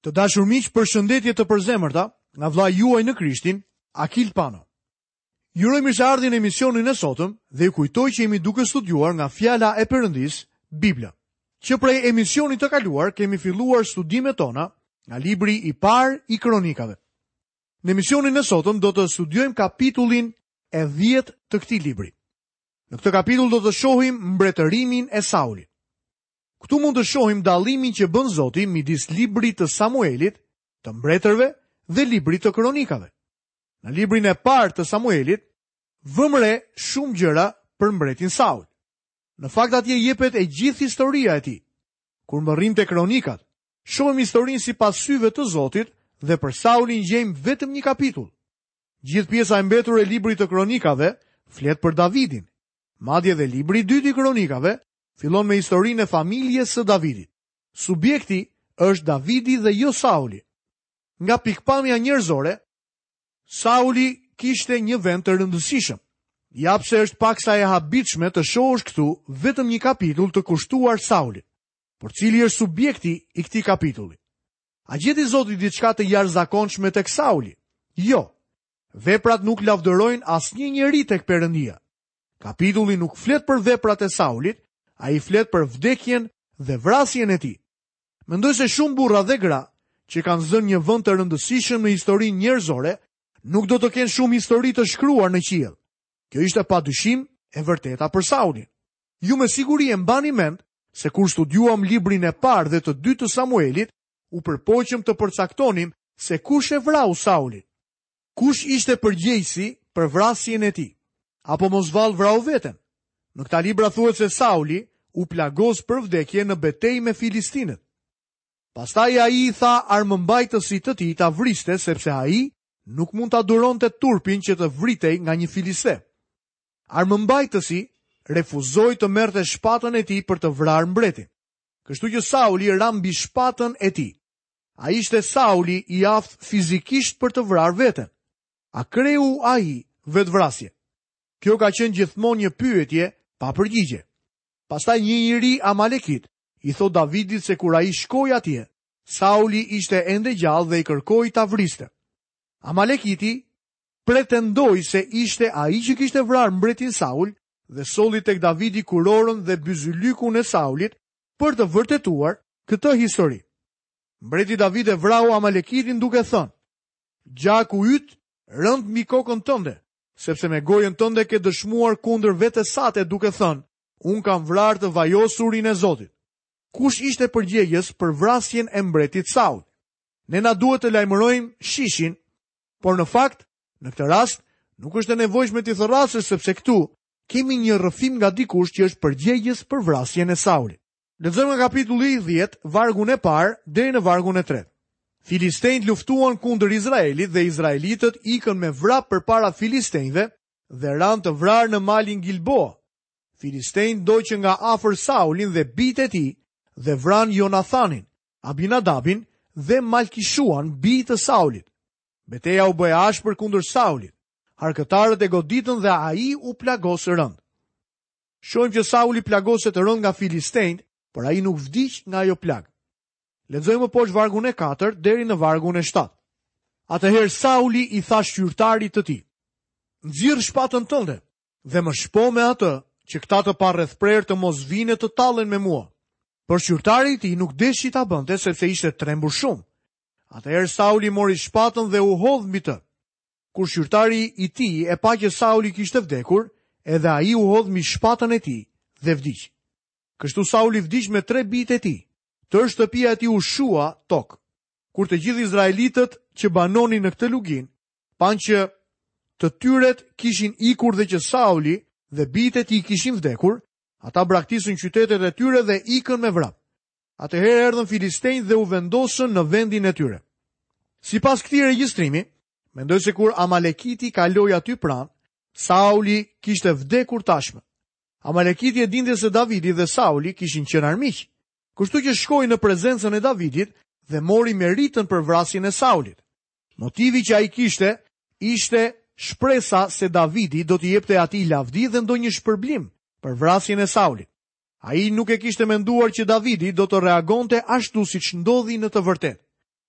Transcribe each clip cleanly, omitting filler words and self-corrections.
Të dashur miq, përshëndetje të përzemërta nga vllai juaj në Krishtin, Akil Pano. Ju uroj mirëseardhjen në emisionin e sotëm dhe ju kujtoj që jemi duke studiuar nga fjala e Perëndis, Bibla. Që prej emisionit të kaluar kemi filluar studimet tona nga libri i parë i Kronikave. Në emisionin e sotëm do të studiojmë kapitullin e 10 të këtij libri. Në këtë kapitull do të shohim mbretërimin e Saulit. Këtu mund të shohim dallimin që bën Zoti midis librit të Samuelit, të mbretërve dhe librit të Kronikave. Në librin e parë të Samuelit vëmë re shumë gjëra për mbretin Saul. Në fakt atje jepet e gjithë historia e tij. Kur mbërrim te Kronikat, shohim historinë sipas syve të Zotit dhe për Saulin gjejmë vetëm një kapitull. Gjithë pjesa e mbetur e librit të Kronikave flet për Davidin. Madje dhe libri i dytë i Kronikave fillon me historinë e familjes së Davidit. Subjekti është Davidi dhe jo Sauli. Nga pikpamja njerëzore, Sauli kishte një vend të rëndësishëm. Japse është paksa e habitshme të shohësh këtu vetëm një kapitull të kushtuar Saulit. Por cili është subjekti i këtij kapitulli? A gjeti Zoti diçka të jashtëzakonshme tek Sauli? Jo. Veprat nuk lavdërojnë asnjë njeri tek Perëndia. Kapitulli nuk flet për veprat e Saulit, ai flet për vdekjen dhe vrasjen e tij. Mendoj se shumë burra dhe gra që kanë zënë një vend të rëndësishëm në historinë njerëzore, nuk do të kenë shumë histori të shkruar në qiell. Kjo ishte padyshim e vërteta për Saulin. Ju me siguri e mbani mend se kur studiuam librin e parë dhe të dytë të Samuelit, u përpoqëm të përcaktonim se kush e vrau Saulin. Kush ishte përgjegjësi për vrasjen e tij? Apo mos vallë vrau veten? Në këta libra thuhet se Sauli u plagos për vdekje në betejë me filistinët. Pastaj ai i tha armëmbajtësit të tij ta vriste sepse ai nuk mund ta duronte turpin që të vritej nga një filiste. Armëmbajtësi refuzoi të merrte shpatën e tij për të vrarë mbretin. Kështu që Sauli ra mbi shpatën e tij. Ai ishte Sauli i aftë fizikisht për të vrarë veten. A kreu ai vetvrasje? Kjo ka qenë gjithmonë një pyetje pa përgjigje. Pastaj një njeri Amalekit i thot Davidit se kur ai shkoi atje, Sauli ishte ende gjallë dhe i kërkoi ta vriste. Amalekiti pretendoi se ishte ai që kishte vrarë mbretin Saul dhe solli tek Davidi kurorën dhe byzylykun e Saulit për të vërtetuar këtë histori. Mbreti David e vrau Amalekitin duke thënë: "Gjaku yt rënd mbi kokën tënde, sepse me gojën tënde ke dëshmuar kundër vetes sate duke thënë, unë kam vrarë të vajosurin e Zotit." Kush ishte përgjegjës për vrasjen e mbretit Saul? Ne na duhet të lajmërojmë shishin, por në fakt, në këtë rast, nuk është e nevojshme të thërrasësh sepse këtu kemi një rrëfim nga dikush që është përgjegjës për vrasjen e Saulit. Lexojmë nga kapitulli 10, vargun e parë deri në vargun e 3. Filistejnët luftuan kundër Izraelit dhe izraelitët ikën me vrap përpara filistejnëve dhe ranë të vrarë në malin Gilboa. Filistejnët doqën nga afër Saulin dhe bijtë e tij dhe vran Jonathanin, Abinadabin dhe Malkishuan, bijtë të Saulit. Beteja u bë e ashpër kundër Saulit. Harkëtarët e goditën dhe ai u plagos rënd. Shohim që Sauli plagoset rënd nga filistejnët, por ai nuk vdiq nga ajo plag. Lexojmë poshtë vargun e 4 deri në vargun e 7. Atëherë Sauli i tha shqyrtarit të tij: "Nxirr shpatën tënde dhe më shpo me atë që këta të parrethprer të mos vinë të tallen me mua." Por shqyrtari i tij nuk deshi ta bënte sepse ishte trembur shumë. Atëherë Sauli mori shpatën dhe u hodh mbi të. Kur shqyrtari i tij e pa që Sauli kishte vdekur, edhe ai u hodh mbi shpatën e tij dhe vdiq. Kështu Sauli vdiq me 3 bijtë e tij. Tërë shtëpia e tij u shua tokë. Kur të gjithë izraelitët që banonin në këtë lugin panë që të tyret kishin ikur dhe që Sauli dhe bijtë e tij kishin vdekur, ata braktisën qytetet e tyre dhe ikën me vrap. Atëherë erdhën filistejnët dhe u vendosën në vendin e tyre. Sipas këtij regjistrimi, mendoj se kur Amalekiti kaloi aty pranë, Sauli kishte vdekur tashmë. Amalekiti e dinte se Davidi dhe Sauli kishin qenë armiq. Kështu që shkoi në prezencën e Davidit dhe mori meritën për vrasjen e Saulit. Motivi që ai kishte ishte shpresa se Davidi do t'i jepte atij lavdi dhe ndonjë shpërblim për vrasjen e Saulit. Ai nuk e kishte menduar që Davidi do të reagonte ashtu siç ndodhi në të vërtetë.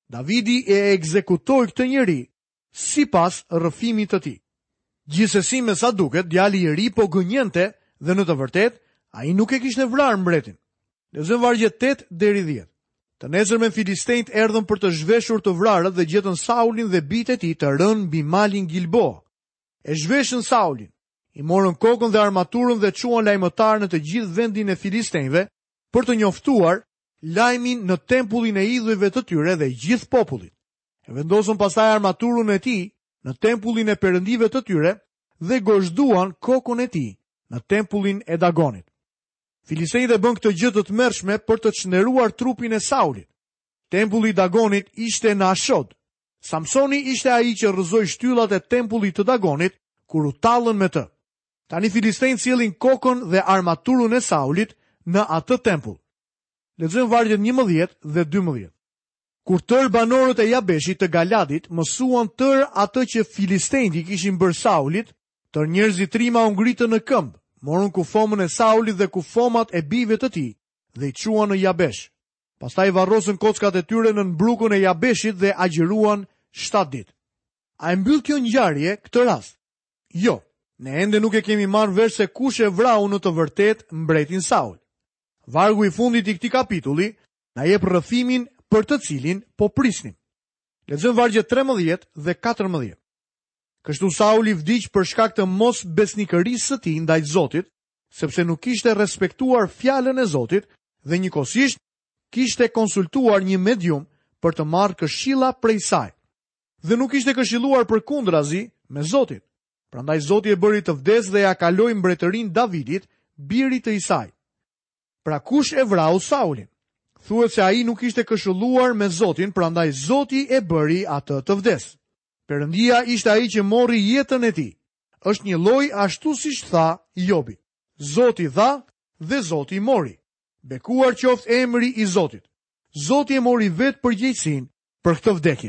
Davidi e ekzekutoi këtë njeri sipas rrëfimit të tij. Gjithsesi me sa duket, djali i ri po gënjente dhe në të vërtetë ai nuk e kishte vrarë mbretin. Lexojmë vargje 8 deri 10. Të nesërmen filistejt erdhën për të zhveshur të vrarët dhe gjetën Saulin dhe bijtë e tij të rënë mbi malin Gilboa. E zhveshën Saulin, i morën kokën dhe armaturën dhe çuan lajmëtar në të gjithë vendin e filistejve për të njoftuar lajmin në tempullin e idhujve të tyre dhe gjithë popullit. E vendosën pastaj armaturën e tij në tempullin e perëndive të tyre dhe gozhduan kokën e tij në tempullin e Dagonit. Filistejtë e bën këtë gjë të tmerrshme për të çndëruar trupin e Saulit. Tempulli i Dagonit ishte në Ashod. Samsoni ishte ai që rrëzoi shtyllat e tempullit të Dagonit kur u tallën me të. Tani filistejtë sjellin kokën dhe armaturën e Saulit në atë tempull. Lexojmë vargjet 11 dhe 12. Kur tërë banorët e Jabeshit të Galadit mësuan tërë atë që filistejtë kishin bërë Saulit, tërë njerëzit trima u ngritën në këmbë, morën kufomën e Saulit dhe kufomat e bijve të tij dhe i çuan në Jabesh. Pastaj varrosën kockat e tyre në mbrukun e Jabeshit dhe agjëruan 7 ditë. A e mbyll kjo ngjarje këtë rast? Jo, ne ende nuk e kemi marrë vesh se kush e vrau në të vërtetë mbretin Saul. Vargu i fundit i këtij kapitulli na jep rrëfimin për të cilin po prisnim. Lexojmë vargjet 13 dhe 14. Kështu Sauli vdiq për shkak të mos besnikërisë së tij ndaj Zotit, sepse nuk kishte respektuar fjalën e Zotit dhe njëkohësisht kishte konsultuar një medium për të marrë këshilla prej saj. Dhe nuk ishte këshilluar përkundrazi me Zotin. Prandaj Zoti e bëri të vdes dhe ja kaloi mbretërinë Davidit, birit të Isai. Pra kush e vrau Saulin? Thuhet se ai nuk ishte këshilluar me Zotin, prandaj Zoti e bëri atë të vdes. Perëndia ishte ai që morri jetën e tij. Është një lloj ashtu siç tha Jobi. Zoti dha dhe Zoti mori. Bekuar qoftë emri i Zotit. Zoti e mori vetë përgjegjësinë për këtë vdekje.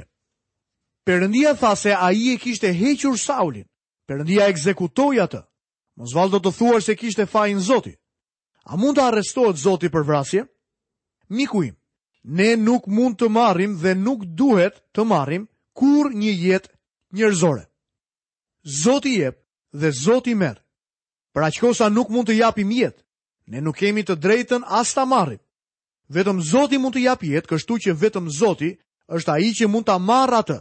Perëndia tha se ai e kishte hequr Saulin. Perëndia ekzekutoi atë. Mos vallë do të thuar se kishte fajin Zoti. A mund të arrestohet Zoti për vrasje? Miku im, ne nuk mund të marrim dhe nuk duhet të marrim kur një jetë njerëzore. Zoti jep dhe Zoti merr. Për aq kohë sa nuk mund të japim jetë, ne nuk kemi të drejtën as ta marrim. Vetëm Zoti mund të jap jetë, kështu që vetëm Zoti është ai që mund ta marrë atë.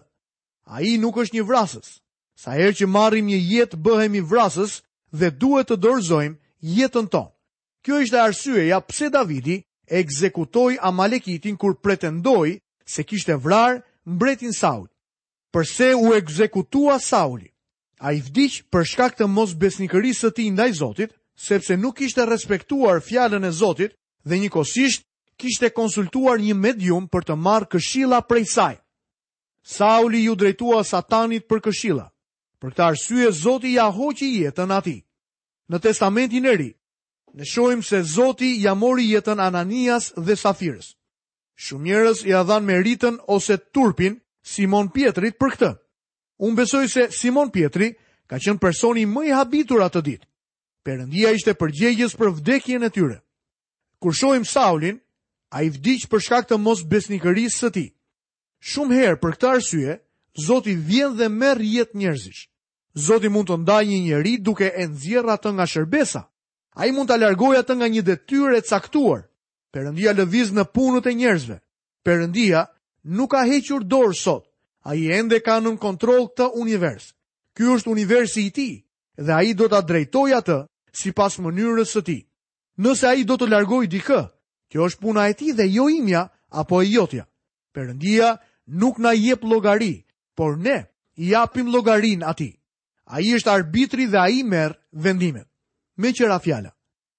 Ai nuk është një vrasës. Sa herë që marrim një jetë bëhemi vrasës dhe duhet të dorëzojmë jetën tonë. Kjo ishte arsyeja pse Davidi ekzekutoi Amalekitin kur pretendoi se kishte vrarë mbretin Saul. Përse u ekzekutua Sauli? Ai vdiq për shkak të mosbesnikërisë së tij ndaj Zotit, sepse nuk kishte respektuar fjalën e Zotit dhe njëkohësisht kishte konsultuar një medium për të marrë këshilla prej saj. Sauli ju drejtua Satanit për këshilla. Për këtë arsye Zoti ja hoqi jetën atij. Në Testamentin e Ri, ne shohim se Zoti ja mori jetën Ananias dhe Safirës. Shumë njerëz ja dhan meritën ose turpin Simon Pietrit për këtë. Unë besoj se Simon Pietri ka qenë personi më i habitur atë ditë. Perëndia ishte përgjegjës për vdekjen e tyre. Kur shohim Saulin, ai vdiq për shkak të mosbesnikërisë së tij. Shumë herë për këtë arsye, Zoti vjen dhe merr jetë njerëzish. Zoti mund të ndajë një njeri duke e nxjerrë atë nga shërbesa. Ai mund ta largojë atë nga një detyrë e caktuar. Perëndia lëviz në punët e njerëzve. Perëndia nuk ka hequr dorë sot. Ai ende ka nën kontroll këtë univers. Ky është universi i tij dhe ai do ta drejtojë atë sipas mënyrës së tij. Nëse ai do të largojë dikë, kjo është puna e tij dhe jo imja apo e jotja. Perëndia nuk na jep llogari, por ne i japim llogarinë atij. Ai është arbitri dhe ai merr vendimet. Me qëra fjala,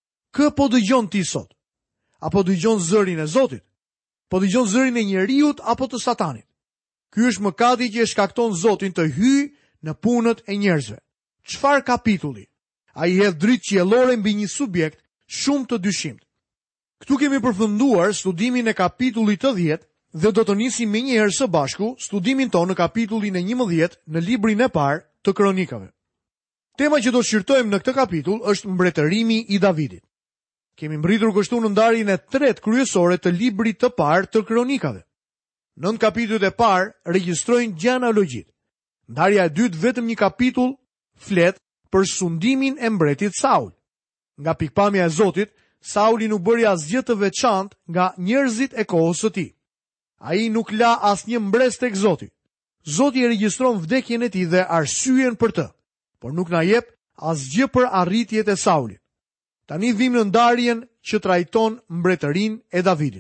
kë po dëgjon ti sot? Apo dëgjon zërin e Zotit? Po dëgjon zërin e njeriut apo të Satanit? Ky është mëkati që e shkakton Zotin të hyjë në punët e njerëzve. Çfarë kapitulli? Ai hedh dritë qiellore mbi një subjekt shumë të dyshimt. Ktu kemi përfunduar studimin e kapitullit të 10 dhe do të nisim menjëherë së bashku studimin tonë në kapitullin e 11 në librin e parë të Kronikave. Tema që do shqyrtojmë në këtë kapitull është mbretërimi i Davidit. Kemi mbritur kështu në ndarjen e 3 kryesore të librit të parë të Kronikave. 9 kapitujt e parë regjistrojnë gjenealogjit. Ndarja e dytë vetëm një kapitull flet për sundimin e mbretit Saul. Nga pikpamja e Zotit, Sauli nuk bëri asgjë të veçantë nga njerëzit e kohës së tij. Ai nuk la asnjë mbres tek Zoti. Zoti e regjistron vdekjen e tij dhe arsyeën për të, por nuk na jep asgjë për arritjet e Saulit. Tani vim në ndarjen që trajton mbretërinë e Davidit.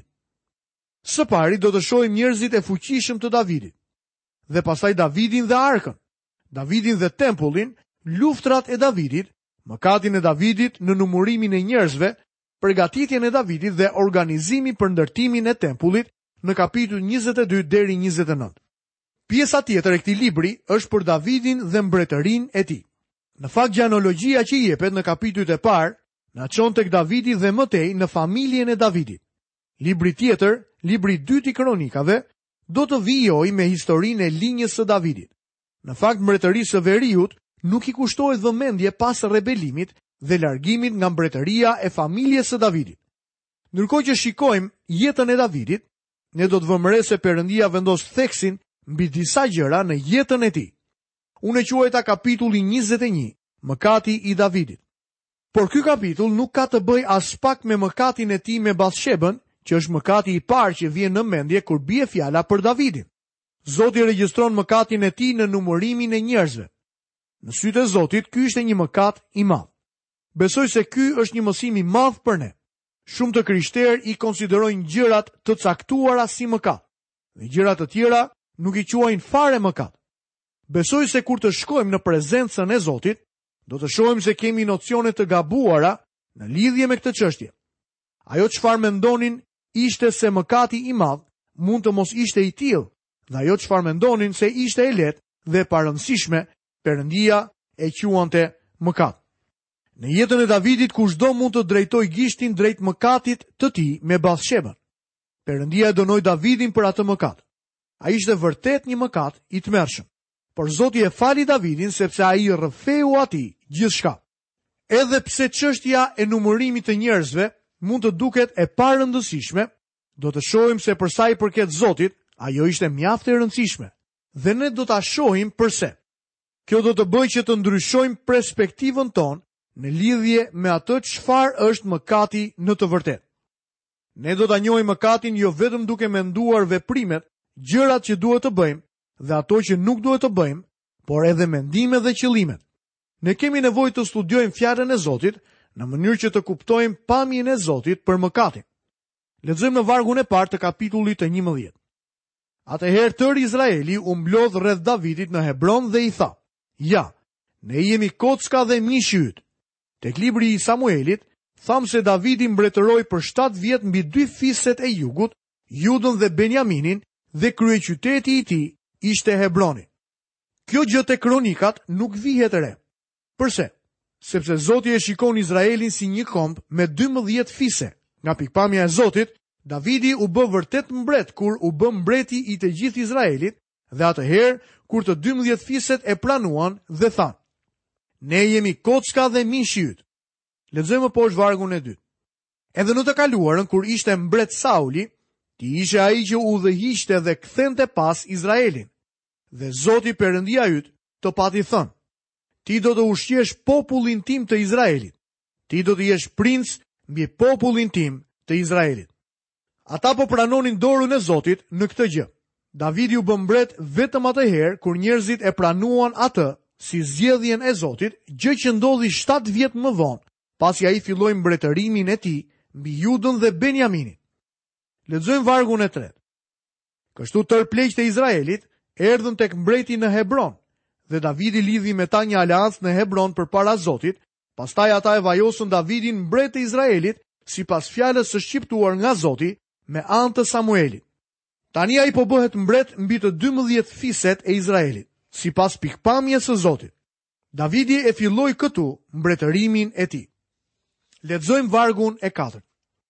Së pari do të shohim njerëzit e fuqishëm të Davidit, dhe pastaj Davidin dhe arkën, Davidin dhe tempullin, luftrat e Davidit, mëkatin e Davidit në numërimin e njerëzve, përgatitjen e Davidit dhe organizimi për ndërtimin e tempullit në kapitull 22 deri 29. Pjesa tjetër e këtij libri është për Davidin dhe mbretërinë e tij. Në fakt gjenealogjia që jepet në kapitujt e parë na çon tek Davidi dhe mëtej në familjen e Davidit. Libri tjetër, libri 2 i kronikave, do të vijojë me historinë e linjës së Davidit. Në fakt mbretërisë së veriut nuk i kushtohet vëmendje pas rebelimit dhe largimit nga mbretëria e familjes së Davidit. Ndërkohë që shikojmë jetën e Davidit, ne do të vëmë re se Perëndia vendos theksin mbi disa gjëra në jetën e tij. Unë e quajta kapitulli 21, mëkati i Davidit. Por ky kapitull nuk ka të bëjë as pak me mëkatin e tij me Bathshebën, që është mëkati i parë që vjen në mendje kur bie fjala për Davidin. Zoti regjistron mëkatin e tij në numërimin e njerëzve. Në sytë e Zotit, ky ishte një mëkat i madh. Besoj se ky është një mësim i madh për ne. Shumë të krishterë i konsiderojnë gjërat të caktuara si mëkat, dhe gjërat të tjera nuk i quajnë fare mëkat. Besoj se kur të shkojmë në prezencën e Zotit, do të shohim se kemi nocione të gabuara në lidhje me këtë çështje. Ajo çfarë mendonin ishte se mëkati i madh mund të mos ishte i tillë, dhe ajo çfarë mendonin se ishte e lehtë dhe e parëndësishme, Perëndia e quante mëkat. Në jetën e Davidit kushdo mund të drejtoj gishtin drejt mëkatit të tij me Bathshebën. Perëndia e dënoi Davidin për atë mëkat. Ai ishte vërtet një mëkat i tmerrshëm, por Zoti e fali Davidin sepse ai rrëfeu atij gjithçka. Edhe pse çështja e numërimit të njerëzve mund të duket e parëndësishme, do të shohim se për sa i përket Zotit, ajo ishte mjaft e rëndësishme, dhe ne do ta shohim pse. Kjo do të bëjë që të ndryshojmë perspektivën tonë në lidhje me atë çfarë është mëkati në të vërtetë. Ne do ta njohim mëkatin jo vetëm duke menduar veprimet, gjërat që duhet të bëjmë dhe ato që nuk duhet të bëjmë, por edhe mendimet dhe qëllimet. Ne kemi nevojë të studiojmë fjalën e Zotit në mënyrë që të kuptojmë pamjen e Zotit për mëkatin. Lexojmë në vargun e parë të kapitullit të 11. Atëherë tërë Izraeli u mblodh rreth Davidit në Hebron dhe i tha: "Ja, ne jemi kocka dhe mishi yt." Tek libri i Samuelit, tham se Davidi mbretëroi për 7 vjet mbi 2 fiset e jugut, Judën dhe Benjaminin, dhe kryeqyteti i tij ishte Hebroni. Kjo gjë te kronikat nuk vihet re. Përse? Sepse Zoti e shikon Izraelin si një komb me 12 fise. Nga pikpamja e Zotit, Davidi u bë vërtet mbret kur u bë mbreti i të gjithë Izraelit, dhe atëherë kur të 12 fiset e pranuan dhe than: "Ne jemi kocka dhe mishi yt." Lexojmë poshtë vargun e 2. Edhe në të kaluarën kur ishte mbret Sauli, ti ishe ai që udhëhiqte dhe kthente pas Izraelin. Dhe Zoti Perëndia yt të pati thënë: "Ti do të ushqesh popullin tim të Izraelit. Ti do të jesh princ mbi popullin tim të Izraelit." Ata po pranonin dorën e Zotit në këtë gjë. Davidi u bë mbret vetëm atëherë kur njerëzit e pranuan atë si zgjedhjen e Zotit, gjë që ndodhi 7 vjet më vonë, pasi ai filloi mbretërimin e tij mbi Judën dhe Benjaminin. Lexojmë vargun e 3. Kështu tërë pleqët e Izraelit erdhën tek mbreti në Hebron, dhe Davidi lidhi me ta një aleancë në Hebron përpara Zotit. Pastaj ata e vajosën Davidin mbret të Izraelit sipas fjalës së shqiptuar nga Zoti me anë të Samuelit. Tani ai po bëhet mbret mbi të 12 fiset e Izraelit, sipas pikpamjes së Zotit. Davidi e filloi këtu mbretërimin e tij. Lexojmë vargun e 4.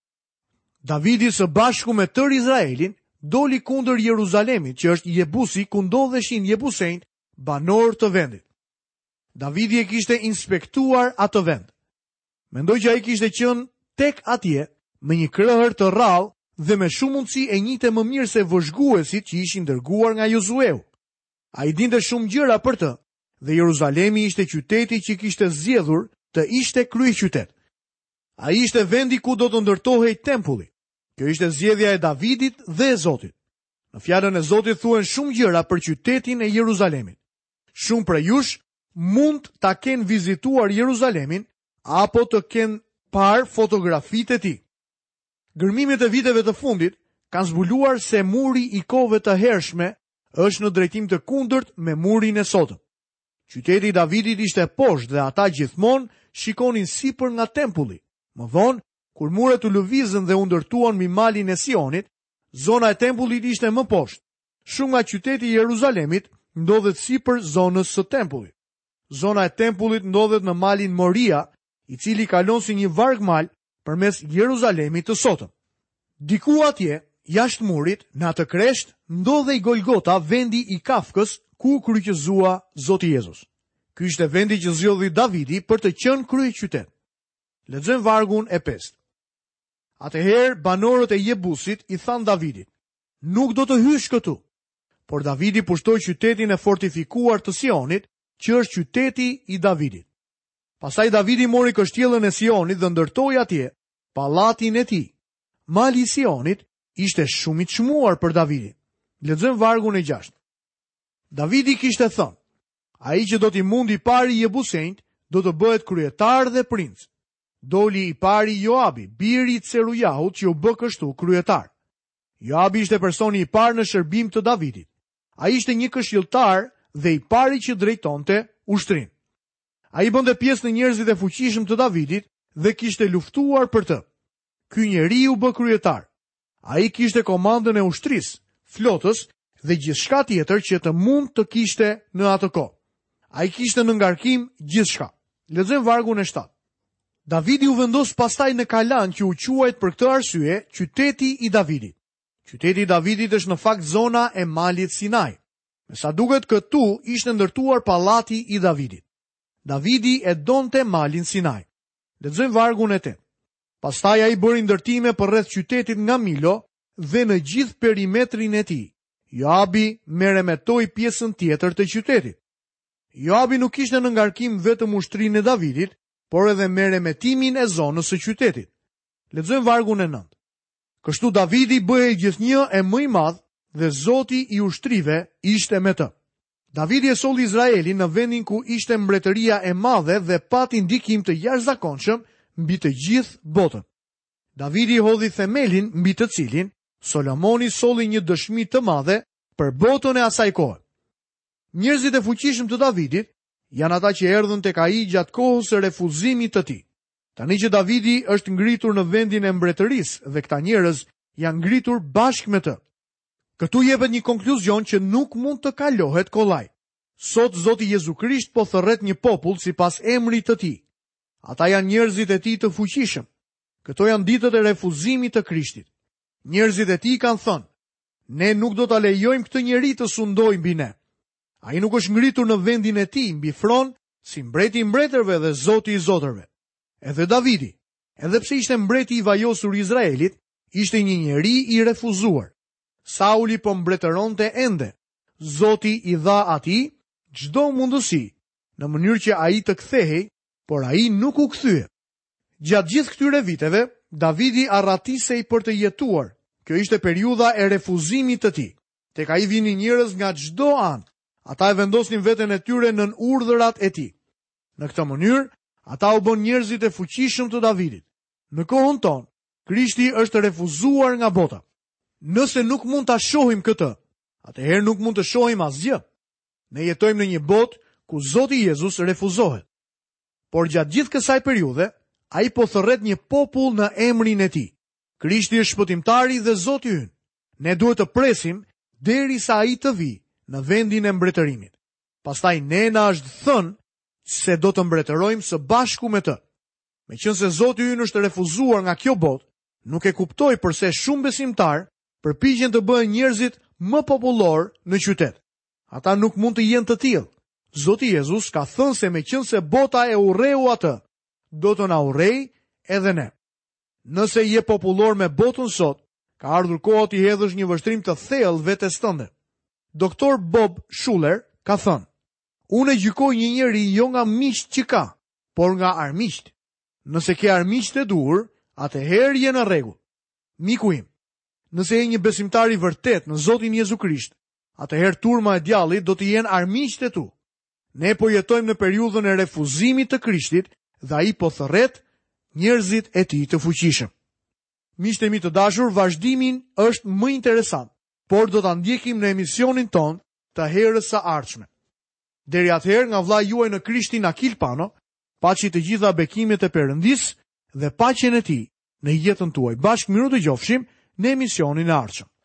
Davidi së bashku me tërë Izraelin doli kundër Jeruzalemit, që është Jebusi, ku ndodheshin Jebusejt, banor të vendit. Davidi e kishte inspektuar atë vend. Mendoj që ai kishte qenë tek atje me një krëhër të rrallë dhe me shumë mundësi e njihte më mirë se vëzhguesit që ishin dërguar nga Josueu. Ai dinte shumë gjëra për të, dhe Jeruzalemi ishte qyteti që kishte zgjedhur të ishte kryeqytet. Ai ishte vendi ku do të ndërtohej tempulli. Kjo ishte zgjedhja e Davidit dhe e Zotit. Në fjalën e Zotit thuhen shumë gjëra për qytetin e Jeruzalemit. Shumë prej jush mund ta kenë vizituar Jeruzalemin apo të kenë parë fotografitë e tij. Gërmimet e viteve të fundit kanë zbuluar se muri i kohëve të hershme është në drejtim të kundërt me murin e sotëm. Qyteti i Davidit ishte poshtë dhe ata gjithmonë shikonin sipër nga tempulli. Më vonë, kur muret u lëvizën dhe u ndërtuan mbi malin e Sionit, zona e tempullit ishte më poshtë. Shumë nga qyteti i Jeruzalemit ndodhet sipër zonës së tempullit. Zona e tempullit ndodhet në malin Moria, i cili kalon si një vargmal përmes Jeruzalemit të sotëm. Diku atje, jashtë murit, në atë kresht, ndodhej Golgota, vendi i kafkës ku kryqëzua Zoti Jezus. Ky ishte vendi që zgjodhi Davidi për të qenë kryeqytet. Lexojmë vargun e 5. Atëherë banorët e Jebusit i thanë Davidit: "Nuk do të hysh këtu." Por Davidi pushtoi qytetin e fortifikuar të Sionit, që është qyteti i Davidit. Pastaj Davidi mori kështjellën e Sionit dhe ndërtoi atje pallatin e tij. Mali i Sionit ishte shumë i çmuar për Davidin. Lexojmë vargun e 6. Davidi kishte thënë: "Ai që do t'i mundi pari Jebusejt, do të bëhet kryetar dhe princ." Doli i pari Joabi, biri i Cerujahut, që u bë kështu kryetar. Joabi ishte personi i parë në shërbim të Davidit. Ai ishte një këshilltar dhe i pari që drejtonte ushtrinë. Ai bënte pjesë në njerëzit e fuqishëm të Davidit dhe kishte luftuar për të. Ky njeriu u bë kryetar. Ai kishte komandën e ushtrisë, flotës dhe gjithçka tjetër që të mund të kishte në atë kohë. Ai kishte në ngarkim gjithçka. Lexojmë vargun e 7. Davidi u vendos pastaj në Kalan, që u quajt për këtë arsye qyteti i Davidit. Qyteti i Davidit është në fakt zona e malit Sinai. Me sa duket, këtu ishte ndërtuar pallati i Davidit. Davidi e donte malin Sinai. Lexojmë vargun e 8. Pastaj ai bëri ndërtime për rreth qytetit nga Milo dhe në gjithë perimetrin e tij. Joabi merremetoi pjesën tjetër të qytetit. Joabi nuk kishte në ngarkim vetëm ushtrinë e Davidit, por edhe merremetimin e zonës së qytetit. Lexojmë vargun e 9. Kështu Davidi bëhej gjithnjë e më i madh dhe Zoti i ushtrive ishte me të. Davidi e solli Izraelin në vendin ku ishte mbretëria e madhe dhe pati ndikim të jashtëzakonshëm mbi të gjithë botën. Davidi hodhi themelin mbi të cilin Solomoni solli një dëshmi të madhe për botën e asaj kohe. Njerëzit e fuqishëm të Davidit janë ata që erdhën tek ai gjatë kohës së refuzimit të tij. Tani që Davidi është ngritur në vendin e mbretërisë dhe këta njerëz janë ngritur bashkë me të. Këtu jepet një konkluzion që nuk mund të kalohet kollaj. Sot Zoti Jezu Krisht po thërret një popull sipas emrit të tij. Ata janë njerëzit e tij të fuqishëm. Këto janë ditët e refuzimit të Krishtit. Njerëzit e tij kanë thënë: "Ne nuk do ta lejojmë këtë njeri të sundojë mbi ne." Ai nuk është ngritur në vendin e tij mbi fron si mbreti i mbretërve dhe Zoti i zotërve. Edhe Davidi, edhe pse ishte mbreti i vajosur i Izraelit, ishte një njeri i refuzuar. Sauli po mbretëronte ende. Zoti i dha atij çdo mundësi në mënyrë që ai të kthehej, por ai nuk u kthye. Gjatë gjithë këtyre viteve, Davidi arratisej për të jetuar. Kjo ishte periudha e refuzimit të tij. Tek ai vinin njerëz nga çdo anë. Ata e vendosnin veten e tyre nën urdhërat e tij. Në këtë mënyrë, ata u bën njerëzit e fuqishëm të Davidit. Në kohën tonë, Krishti është refuzuar nga bota. Nëse nuk mund ta shohim këtë, atëherë nuk mund të shohim asgjë. Ne jetojmë në një botë ku Zoti Jezus refuzohet. Por gjatë gjithë kësaj periudhe, ai po thërret një popull në emrin e tij. Krishti është shpëtimtari dhe Zoti ynë. Ne duhet të presim derisa ai të vijë në vendin e mbretërimit. Pastaj ne na është thënë se do të mbretërojmë së bashku me të. Meqense Zoti ynë është refuzuar nga kjo botë, nuk e kuptoj pse shumë besimtar përpiqen të bëhen njerëzit më popullor në qytet. Ata nuk mund të jenë të tillë. Zoti Jezus ka thënë se meqense bota e urreu atë, do të na urrej edhe ne. Nëse je popullor me botën sot, ka ardhur koha t'i hedhësh një vështrim të thellë vetes tënde. Doktor Bob Schuller ka thënë: "Unë e gjykoj një njeri jo nga miqt që ka, por nga armiqt. Nëse ke armiqt e duhur, atëherë je në rregull. Miku im, nëse je një besimtar i vërtet në Zotin Jezu Krisht, atëherë turma e djallit do të jenë armiqt e tu. Ne po jetojmë në periudhën e refuzimit të Krishtit dhe ai po thërret njerëzit e tij të fuqishëm." Miqtë e mi të dashur, vazhdimin është më interesant, por do ta ndjekim në emisionin ton të herës së ardhshme. Deri atëherë, nga vllai juaj në Krishtin Akil Pano, paçi të gjitha bekimet e Perëndis dhe paqen e tij në jetën tuaj. Bashkë miru të gjofshim në emisionin e ardhshëm.